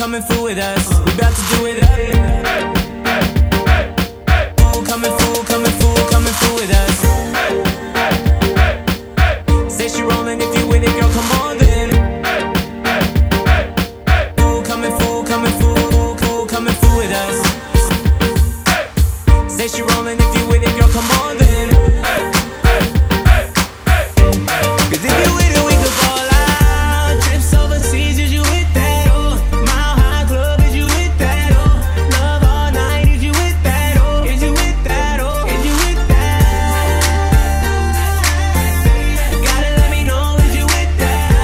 coming through with us. We about to do it up. Coming through with us. Say she rolling if you with it, girl, come on then. Coming through with us. Say she rolling if you with it, girl, come on then. Cause if you with it, we could fall out. Trips overseas, is you with that? Oh, Mile High Club, is you with that? Oh, love all night, is you with that? Oh, is you with that? Oh, is you with that? Gotta let me know, is you with that?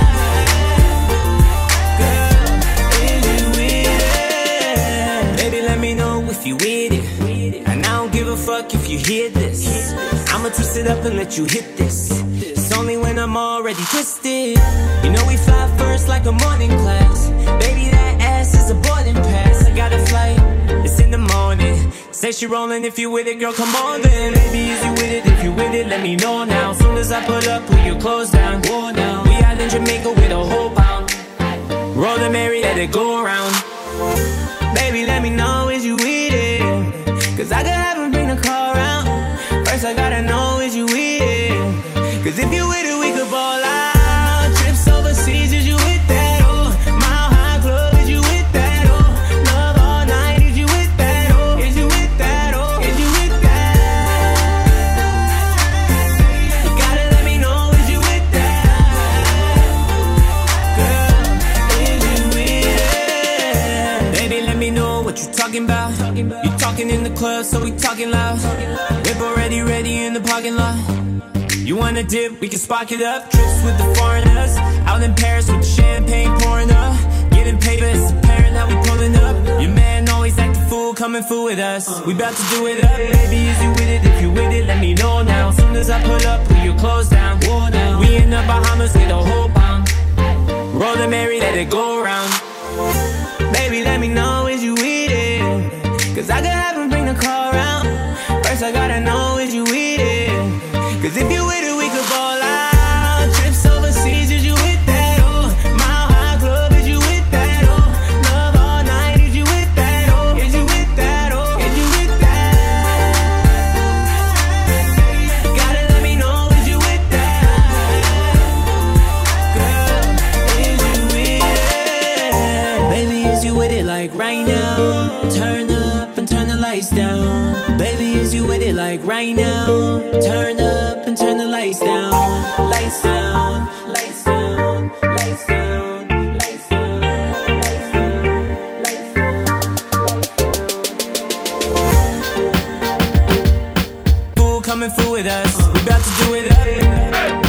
Girl, is you with it? Baby, let me know if you with it. And I don't give a fuck if you hear this. I'ma twist it up and let you hit this. It's only when I'm already twisted. You know we fly first like a morning class. Baby, that ass is a boarding pass. I got a flight, it's in the morning. Say she rolling if you with it, girl, come on then. Baby, is you with it? If you with it, let me know now. Soon as I put up, put your clothes down. Whoa, now we out in Jamaica with a whole pound. Roll the Mary, let it go around. Baby, let me know, is you with it? Cause I could have him bring the car around. First I gotta know, is you with it? Cause if you with it, we could ball out. Trips overseas, is you with that? Oh, Mile High Club, is you with that? Oh, love all night, is you with that? Oh, is you with that? Oh, is you with that? You gotta let me know, is you with that? Girl, is you with it? Baby, let me know what you talking about. You talking in the club, so we talking loud. Whip already ready in the parking lot. You wanna dip, we can spark it up. Trips with the foreigners, out in Paris with the champagne pouring up. Getting paper, it's apparent how we pulling up. Your man always act a fool, coming through with us. We about to do it up, baby, is you with it? If you with it, let me know now. Soon as I put up, put your clothes down. Whoa, now we in the Bahamas with a whole pound. Roll the Mary, let it go around. Baby, let me know, is you with it? Cause I could have him bring the car around. First I gotta know, is you with it? Cause if you with it, we could ball out. Trips overseas, is you with that? Oh, Mile High Club, is you with that? Oh, love all night, is you with that? Oh, is you with that? Oh, is you with that? Gotta let me know, is you with that? Girl, is you with it? Baby, is you with it like right now? Turn up and turn the lights down. Baby, is you with it like right now? Turn up and turn the lights down. Lights down, lights down, lights down, lights down, lights down. Fool coming through with us. We about to do it up.